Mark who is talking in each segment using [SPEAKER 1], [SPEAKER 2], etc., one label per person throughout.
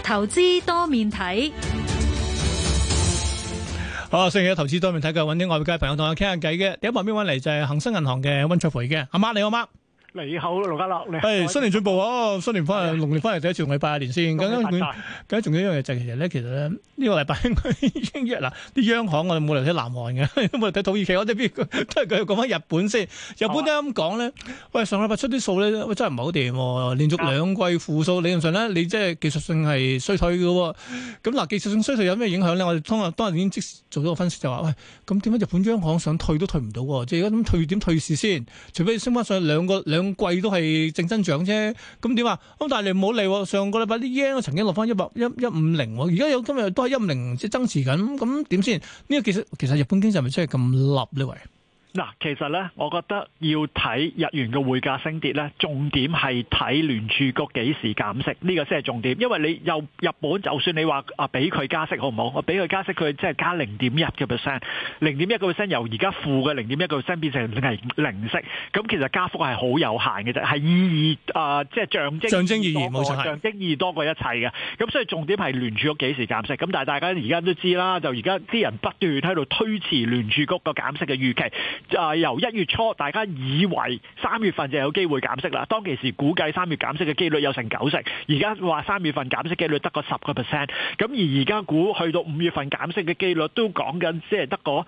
[SPEAKER 1] 投資多面睇。
[SPEAKER 2] 好，星期一投資多面睇嘅，揾啲外界朋友同我傾下偈嘅。第一旁邊揾嚟就係恒生銀行嘅溫灼培嘅，阿媽你好嗎？
[SPEAKER 3] 你好，盧家樂，你好。
[SPEAKER 2] 係新年進步啊！新年翻嚟，農曆翻嚟第一次同你拜下年先。咁緊仲有一樣嘢就係其實咧呢個禮拜應該已經嗱啲央行我哋冇嚟睇南韓嘅，冇嚟睇土耳其，我哋邊都係佢講翻日本先。日本點解咁講咧？喂，上禮拜出啲數咧，喂真係唔係好掂喎，連續兩季負數，理論上咧你即係技術性係衰退嘅喎。咁嗱，技術性衰退有咩影響咧？我哋當日已經即時做咗個分析就話，喂，咁點解日本央行想退都退唔到喎？即係而家咁退點退市先？除非升翻上兩季都係正增長啫，咁點啊？咁但係你唔好理，上個禮拜啲 yen 曾經落翻150，而家有今日都係150即係增持緊，咁點先？呢個其實日本經濟係咪真係咁立呢？喂？
[SPEAKER 3] 嗱，其實咧，我覺得要睇日元嘅匯價升跌咧，重點係睇聯儲局幾時減息，呢個先係重點。因為你又日本，就算你話俾佢加息好唔好？我俾佢加息，佢即係加0.1%， 0.1%由而家負嘅0.1%變成係零息，咁其實加幅係好有限嘅啫，係意義即係象徵意義冇錯，象徵意義多過一切嘅。咁所以重點係聯儲局幾時減息。咁但係大家而家都知啦，就而家啲人不斷喺度推遲聯儲局個減息嘅預期。由1月初大家以為3月份就有機會減息啦，當其時估計3月減息嘅機率有成90%，而家話3月份減息機率得個10%，咁而家估去到5月份減息嘅機率都講緊即係得個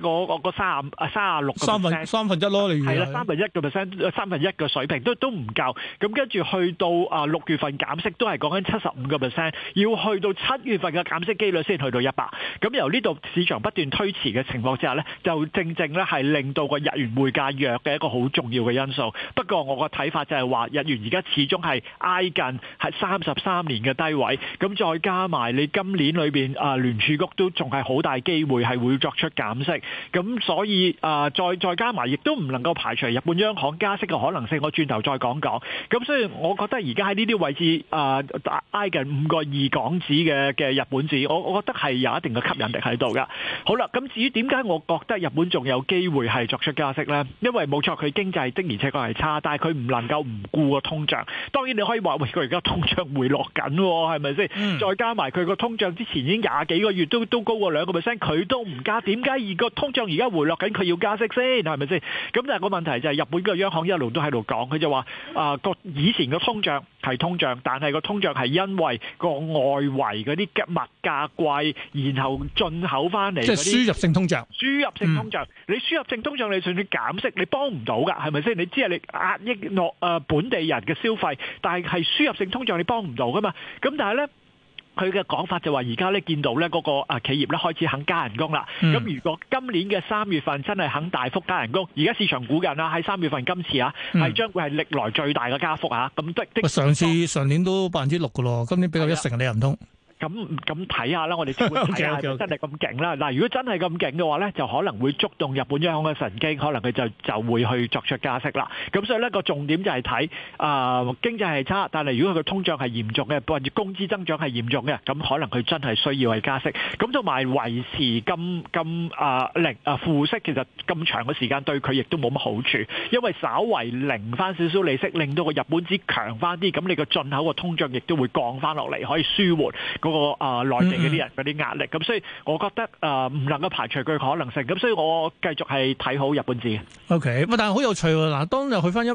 [SPEAKER 3] 36%，
[SPEAKER 2] 三分一咯，你
[SPEAKER 3] 係啦，1%，三分一嘅水平都唔夠，咁跟住去到6月份減息都係講緊75%，要去到7月份嘅減息機率先去到100%，咁由呢度市場不斷推遲嘅情況之下呢，就正咧係令到個日元匯價弱嘅一個好重要嘅因素。不過我個睇法就係話，日元而家始終係挨近係33年嘅低位，咁再加埋你今年裏邊聯儲局都仲係好大機會係會作出減息，咁所以再加埋亦都唔能夠排除日本央行加息嘅可能性。我轉頭再講講。咁所以我覺得而家喺呢啲位置挨近5.2港紙嘅日本紙，我覺得係有一定嘅吸引力喺度噶。好啦，咁至於點解我覺得日本仲有機會係作出加息呢？因為冇錯，佢經濟的而且確係差，但係佢唔能夠唔顧個通脹。當然你可以話，喂，佢而家通脹回落緊，係咪先？再加埋佢個通脹之前已經20幾個月都高過2%，佢都唔加，點解而個通脹而家回落緊，佢要加息先？係咪先？咁但係個問題就係日本嘅央行一路都喺度講，佢就話以前個通脹係通脹，但係個通脹係因為個外圍嗰啲物價貴，然後進口翻嚟嗰啲，
[SPEAKER 2] 即係輸入性通脹。
[SPEAKER 3] 輸入性通脹，你輸入性通脹，你就算減息，你幫唔到㗎，係咪先？你只係你壓抑落本地人嘅消費，但係輸入性通脹你幫唔到㗎嘛？咁但係咧，佢嘅講法就話而家咧見到咧嗰個企業咧開始肯加人工啦。咁如果今年嘅3月份真係肯大幅加人工，而家市場估緊啦，喺3月份今次係將會係歷來最大嘅加幅啊！咁
[SPEAKER 2] 上年都6%㗎咯，今年比較1成，你又唔通？
[SPEAKER 3] 咁睇下啦，我哋先會睇下係咪真係咁勁啦。嗱，如果真係咁勁嘅話咧，就可能會觸動日本央行嘅神經，可能佢就會去作出加息啦。咁所以咧個重點就係睇經濟係差，但係如果佢個通脹係嚴重嘅，或者工資增長係嚴重嘅，咁可能佢真係需要係加息。咁同埋維持咁負息，其實咁長嘅時間對佢亦都冇乜好處，因為稍為零翻少少利息，令到個日本紙強翻啲，咁你個進口個通脹亦都會降翻落嚟，可以舒緩個內地嗰啲人嗰啲壓力。咁所以我覺得唔能夠排除佢可能性。咁所以我繼續係睇好日本紙嘅。
[SPEAKER 2] OK，但係好有趣喎。嗱，當日去翻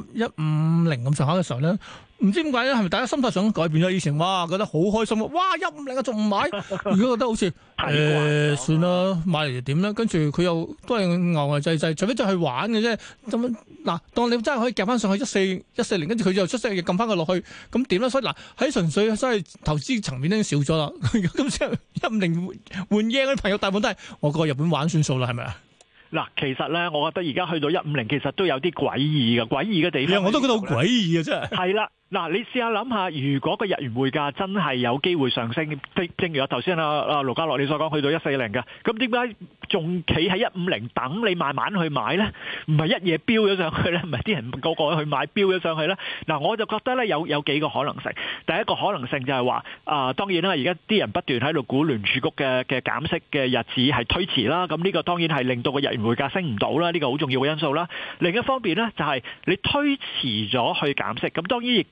[SPEAKER 2] 150咁上下嘅時候咧，唔知點解咧，係咪大家心態上改變咗？以前哇覺得好開心，哇150仲唔買，而家覺得好似算啦，買嚟就點咧？跟住佢又都係牛牛滯，除非再去玩嘅啫。咁嗱，當你真係可以夾翻上去14，跟住佢又出息，又撳翻佢落去，咁點咧？所以嗱，喺純粹真係投資層面已經少咗啦。咁之後150換 yen 嗰啲朋友大部分都係我過日本玩算數啦，係咪啊？
[SPEAKER 3] 嗱，其實咧，我覺得而家去到150，其實都有啲詭異嘅地方。
[SPEAKER 2] 我都覺得好詭異嘅真係。
[SPEAKER 3] 係啦。嗱，你試下諗下，如果個日元匯價真係有機會上升，正如我頭先盧家樂你所講，去到140嘅，咁點解仲企喺150等你慢慢去買咧？唔係一嘢飆咗上去咧，唔係啲人個個去買飆咗上去咧？嗱，我就覺得咧有幾個可能性。第一個可能性就係話，當然啦，而家啲人不斷喺度估聯儲局嘅減息嘅日子係推遲啦，咁呢個當然係令到個日元匯價升唔到啦，呢個好重要嘅因素啦。另一方面咧，就係你推遲咗去減息，咁當然亦都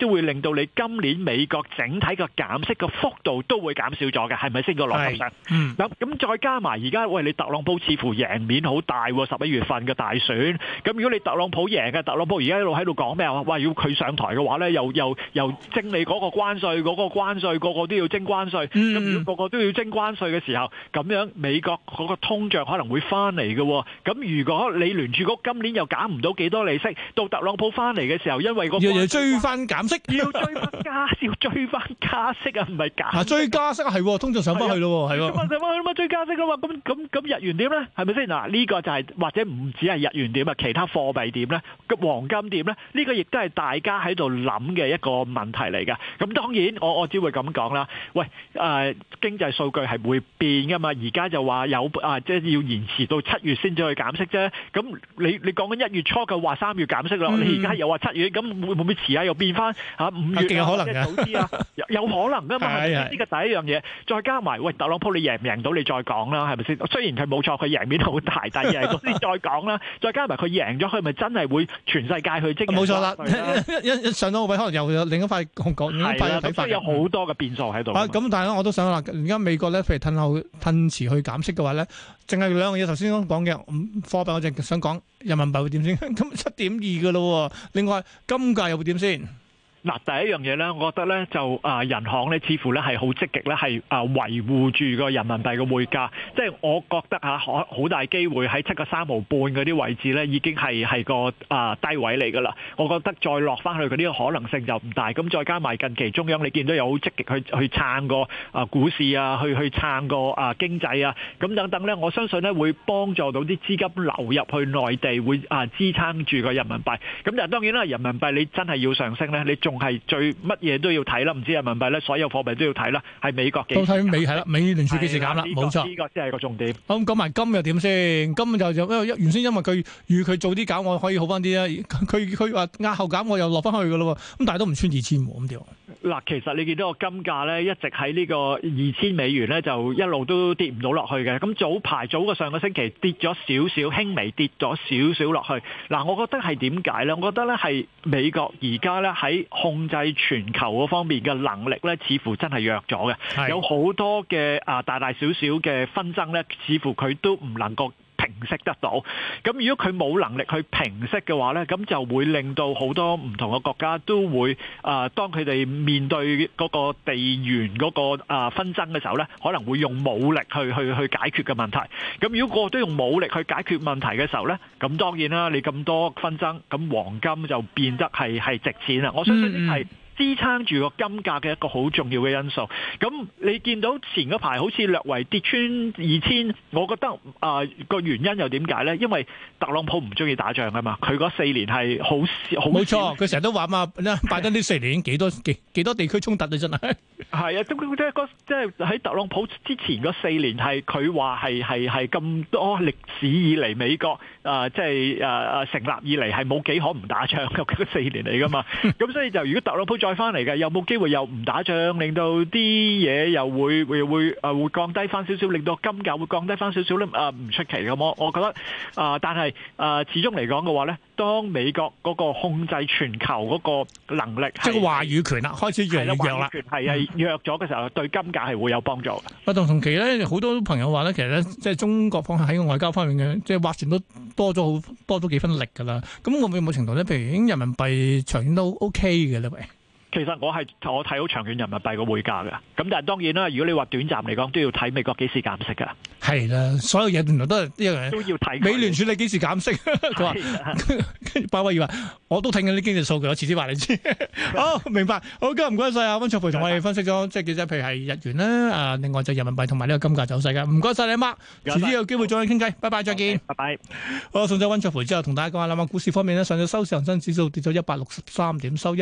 [SPEAKER 3] 都會令到你今年美國整體嘅減息嘅幅度都會減少咗嘅，係咪先個邏輯上？咁再加埋而家喂，你特朗普似乎贏面好大喎，11月份嘅大選。咁如果你特朗普贏嘅，特朗普而家一路喺度講咩啊？哇！要佢上台嘅話咧，又徵你嗰個關稅，嗰個關稅個個都要徵關稅。咁如果個個都要徵關稅嘅時候，咁樣美國嗰個通脹可能會翻嚟嘅。咁如果你聯儲局今年又減唔到幾多利息，到特朗普翻嚟嘅時候，因為個
[SPEAKER 2] 要追翻減息，
[SPEAKER 3] 要追翻加息啊，唔係減。
[SPEAKER 2] 追加息係通脹上翻去咯，係喎。
[SPEAKER 3] 上翻去啦嘛，追加息啊嘛，咁日元點咧？係咪先？嗱，呢個就係或者唔止係日元點啊，其他貨幣點咧？個黃金點咧？呢個亦都係大家喺度諗嘅一個問題嚟嘅。咁當然我只會咁講啦。喂，經濟數據係會變噶嘛？而家就話有即係要延遲到7月先至去減息啫。咁你講緊1月初嘅話3月減息咯，你而家又話7月，咁會唔會遲下又變翻5月啊？
[SPEAKER 2] 可能
[SPEAKER 3] 早啲啊？有可能噶嘛？呢個第一樣嘢，再加埋喂，特朗普你贏唔贏到你再講啦，係咪先？雖然佢冇錯，佢贏面好大，但係贏到先再講啦。再加埋佢贏咗，佢咪真係會全世界去徵？冇錯啦，
[SPEAKER 2] 一上到個位，可能又有另一塊講另一塊睇法。
[SPEAKER 3] 所以有好多嘅變數喺度。
[SPEAKER 2] 咁但係我都想啦，而家美國咧，譬如褪遲去減息嘅話咧，淨係兩樣嘢頭先講嘅貨幣，我淨係想講人民幣會點先？咁7.2嘅咯，另外金價又會點先？
[SPEAKER 3] 嗱，第一樣嘢咧，我覺得咧就人行咧似乎咧係好積極咧，係維護住個人民幣嘅匯價。即係我覺得好大機會喺7個3毫半嗰啲位置咧，已經係個低位嚟㗎啦。我覺得再落翻去嗰啲可能性就唔大。咁再加埋近期中央你見到有好積極去撐個股市啊，去撐個經濟啊，咁等等咧，我相信咧會幫助到啲資金流入去內地，會支撐住個人民幣。咁但係當然啦，人民幣你真係要上升咧，你仲係最乜嘢都要睇啦，唔知人民幣咧，所有貨幣都要睇啦，係美國幾時減？都睇美係啦，美聯儲幾時減啦？冇錯，呢個先係個重點。咁講埋金又點先？金就原先因為佢預佢早啲減，我可以好翻啲啦。佢話押後減，我又落翻去噶咯。咁但係都唔穿2000喎，咁點？嗱，其實你見到個金價咧，一直喺呢個2000美元咧，就一路都跌唔到落去嘅。咁早個上個星期跌咗少少，輕微跌咗少少落去。嗱，我覺得係點解咧？我覺得咧係美國而家咧喺控制全球嗰方面嘅能力咧，似乎真係弱咗嘅。有好多嘅大大小小嘅紛爭咧，似乎佢都唔能夠平息得到。咁如果佢冇能力去平息嘅話咧，咁就會令到好多唔同嘅國家都會當佢哋面對嗰個地緣嗰個紛爭嘅時候咧，可能會用武力去解決嘅問題。咁如果個個都用武力去解決問題嘅時候咧，咁當然啦，你咁多紛爭，咁黃金就變得係值錢啦。我相信呢係支撐住個金價嘅一個好重要嘅因素。咁你見到前嗰排好似略為跌穿2000，我覺得個原因又點解咧？因為特朗普唔中意打仗啊嘛，佢嗰4年係好冇錯，佢成日都話嘛，拜登呢4年幾多地區衝突啊，真係係啊，即係喺特朗普之前嗰4年係佢話係咁多歷史以嚟美國即係成立以嚟係冇幾可唔打仗嘅嗰4年嚟噶嘛。咁所以就如果特朗普再翻嚟嘅，有冇機會又唔打仗，令到啲嘢又會降低翻少少，令到金價會降低翻少少咧？唔出奇咁，我覺得但係始終嚟講嘅話咧，當美國嗰個控制全球嗰個能力，即係話語權啦，開始越嚟越弱啦，係弱咗嘅時候，對金價係會有幫助嘅。同期咧，好多朋友話咧，其實咧，即係中國方喺個外交方面嘅，即係劃船都多咗幾分力㗎啦。咁會唔會有冇程度咧？譬如已經人民幣長遠都 OK 嘅咧？喂。其實我睇好長遠人民幣個匯價嘅，咁但係當然啦，如果你話短暫嚟講，都要睇美國幾時減息㗎。係啦，所有嘢原來都係一樣，都要睇美聯儲你幾時減息。佢話，鮑威爾話，我都睇緊啲經濟數據，我遲啲話你知。好，明白。好，今日唔該晒啊，溫灼培同我哋分析咗，即係幾隻，譬如係日元啦，另外就人民幣同埋呢個金價走勢嘅。唔該晒你阿媽，遲啲有機會再傾偈。拜拜，再見。拜拜。好，送咗溫灼培之後，同大家講下啦。股市方面呢，上晝收市恒生指數跌咗163點，收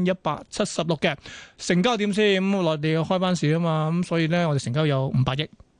[SPEAKER 3] 16176嘅，成交點先。咁內地要開班市啊嘛，咁所以咧我哋成交有500億。